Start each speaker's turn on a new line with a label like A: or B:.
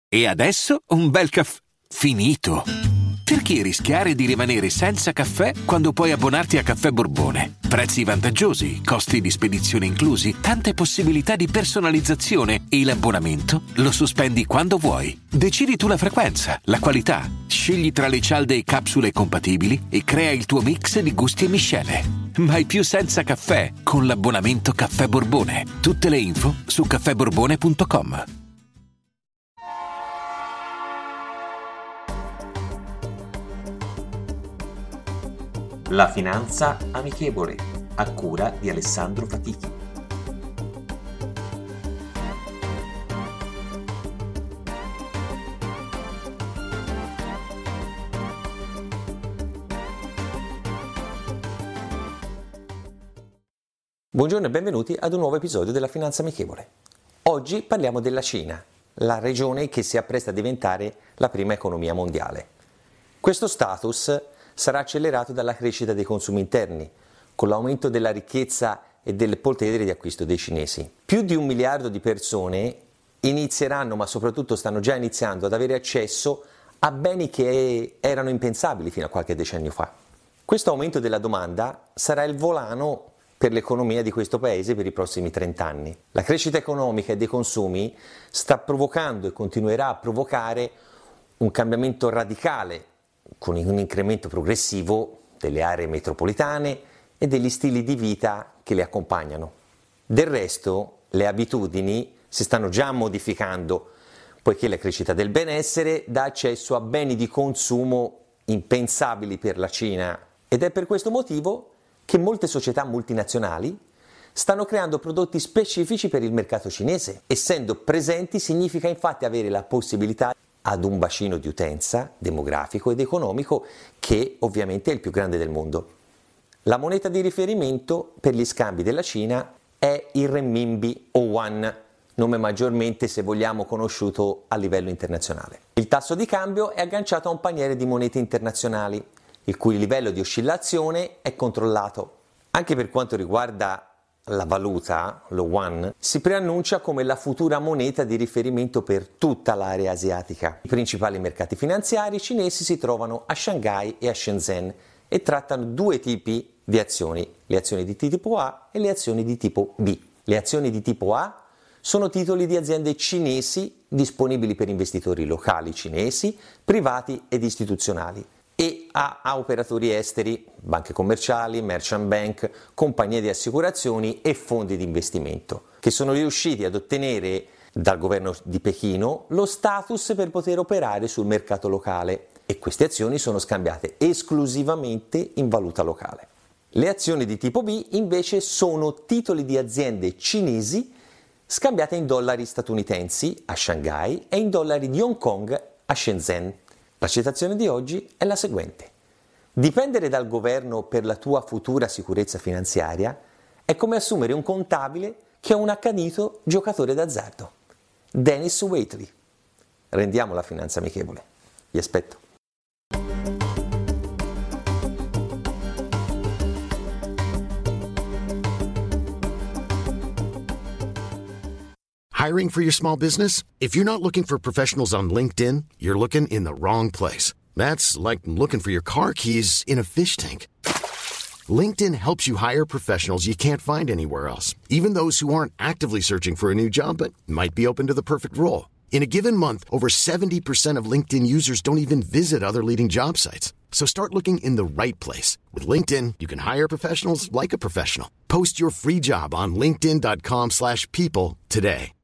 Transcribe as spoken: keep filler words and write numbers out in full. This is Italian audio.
A: E adesso un bel caffè finito. Perché rischiare di rimanere senza caffè quando puoi abbonarti a Caffè Borbone? Prezzi vantaggiosi, costi di spedizione inclusi, tante possibilità di personalizzazione e l'abbonamento lo sospendi quando vuoi. Decidi tu la frequenza, la qualità, scegli tra le cialde e capsule compatibili e crea il tuo mix di gusti e miscele. Mai più senza caffè con l'abbonamento Caffè Borbone. Tutte le info su caffè borbone punto com.
B: La finanza amichevole, a cura di Alessandro Fatichi.
C: Buongiorno e benvenuti ad un nuovo episodio della Finanza Amichevole. Oggi parliamo della Cina, la regione che si appresta a diventare la prima economia mondiale. Questo status sarà accelerato dalla crescita dei consumi interni, con l'aumento della ricchezza e del potere di acquisto dei cinesi. Più di un miliardo di persone inizieranno, ma soprattutto stanno già iniziando, ad avere accesso a beni che erano impensabili fino a qualche decennio fa. Questo aumento della domanda sarà il volano per l'economia di questo paese per i prossimi trenta anni. La crescita economica e dei consumi sta provocando e continuerà a provocare un cambiamento radicale, con un incremento progressivo delle aree metropolitane e degli stili di vita che le accompagnano. Del resto, le abitudini si stanno già modificando, poiché la crescita del benessere dà accesso a beni di consumo impensabili per la Cina, ed è per questo motivo che molte società multinazionali stanno creando prodotti specifici per il mercato cinese. Essendo presenti significa infatti avere la possibilità ad un bacino di utenza demografico ed economico che ovviamente è il più grande del mondo. La moneta di riferimento per gli scambi della Cina è il renminbi o yuan, nome maggiormente, se vogliamo, conosciuto a livello internazionale. Il tasso di cambio è agganciato a un paniere di monete internazionali, il cui livello di oscillazione è controllato. Anche per quanto riguarda la valuta, lo yuan, si preannuncia come la futura moneta di riferimento per tutta l'area asiatica. I principali mercati finanziari cinesi si trovano a Shanghai e a Shenzhen e trattano due tipi di azioni, le azioni di tipo A e le azioni di tipo B. Le azioni di tipo A sono titoli di aziende cinesi disponibili per investitori locali cinesi, privati ed istituzionali, e a, a operatori esteri, banche commerciali, merchant bank, compagnie di assicurazioni e fondi di investimento, che sono riusciti ad ottenere dal governo di Pechino lo status per poter operare sul mercato locale, e queste azioni sono scambiate esclusivamente in valuta locale. Le azioni di tipo B invece sono titoli di aziende cinesi scambiate in dollari statunitensi a Shanghai e in dollari di Hong Kong a Shenzhen. La citazione di oggi è la seguente: dipendere dal governo per la tua futura sicurezza finanziaria è come assumere un contabile che è un accanito giocatore d'azzardo. Dennis Waitley. Rendiamo la finanza amichevole. Vi aspetto.
D: Hiring for your small business? If you're not looking for professionals on LinkedIn, you're looking in the wrong place. That's like looking for your car keys in a fish tank. LinkedIn helps you hire professionals you can't find anywhere else, even those who aren't actively searching for a new job but might be open to the perfect role. In a given month, over seventy percent of LinkedIn users don't even visit other leading job sites. So start looking in the right place. With LinkedIn, you can hire professionals like a professional. Post your free job on linkedin dot com slash people today.